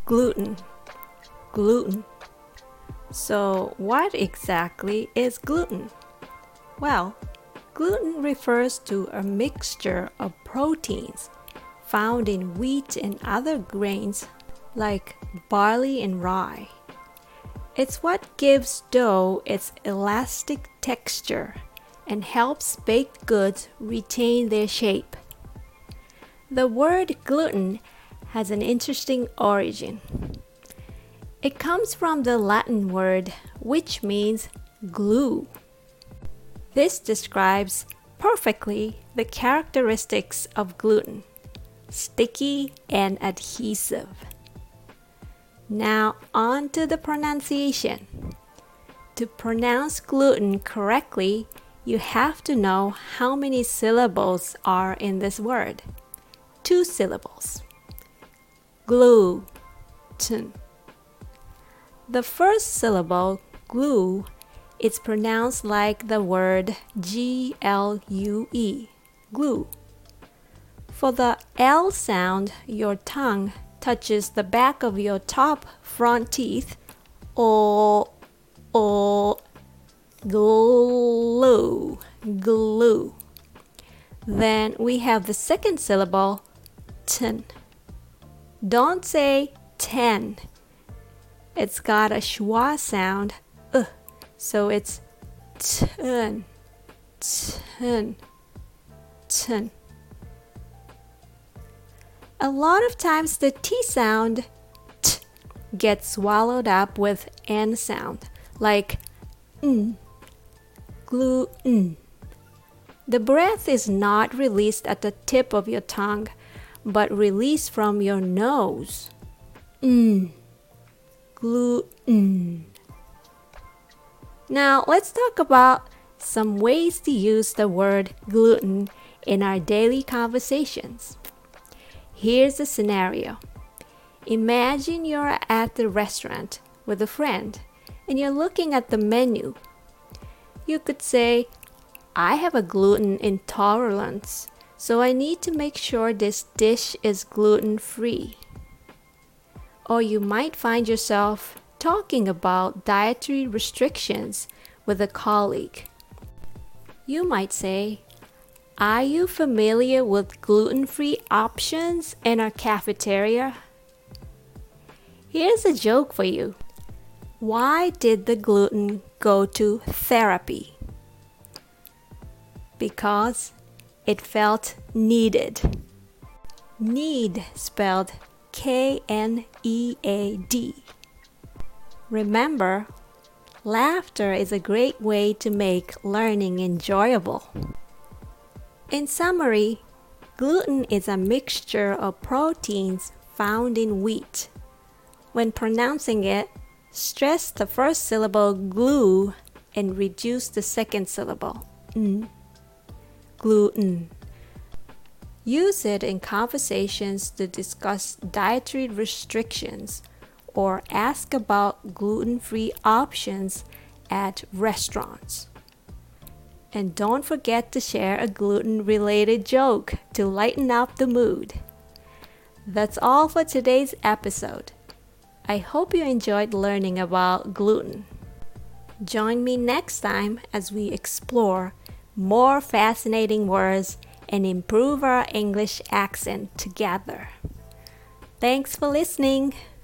Gluten. Gluten. So what exactly is gluten? Well, gluten refers to a mixture of proteins found in wheat and other grains like barley and rye. It's what gives dough its elastic texture and helps baked goods retain their shape. The word gluten has an interesting origin. It comes from the Latin word which means glue. This describes perfectly the characteristics of gluten: sticky and adhesive. Now on to the pronunciation. To pronounce gluten correctly, you have to know how many syllables are in this word. 2 syllables. Gluten. The first syllable, glue, is pronounced like the word G-L-U-E, glue. For the L sound, your tongue touches the back of your top front teeth, or glue, glue. Then we have the second syllable, ten. Don't say 10. It's got a schwa sound, so it's ten, ten, ten. A lot of times the T sound, t, gets swallowed up with N sound, like gluten. The breath is not released at the tip of your tongue, but released from your nose. Gluten. Now let's talk about some ways to use the word gluten in our daily conversations. Here's a scenario. Imagine you're at the restaurant with a friend and you're looking at the menu. You could say, I have a gluten intolerance, so I need to make sure this dish is gluten-free. Or you might find yourself talking about dietary restrictions with a colleague. You might say, are you familiar with gluten-free options in our cafeteria? Here's a joke for you. Why did the gluten go to therapy? Because it felt needed. Need spelled K-N-E-A-D. Remember, laughter is a great way to make learning enjoyable. In summary, gluten is a mixture of proteins found in wheat. When pronouncing it, stress the first syllable glue and reduce the second syllable gluten. Use it in conversations to discuss dietary restrictions or ask about gluten-free options at restaurants. And don't forget to share a gluten-related joke to lighten up the mood. That's all for today's episode. I hope you enjoyed learning about gluten. Join me next time as we explore more fascinating words and improve our English accent together. Thanks for listening.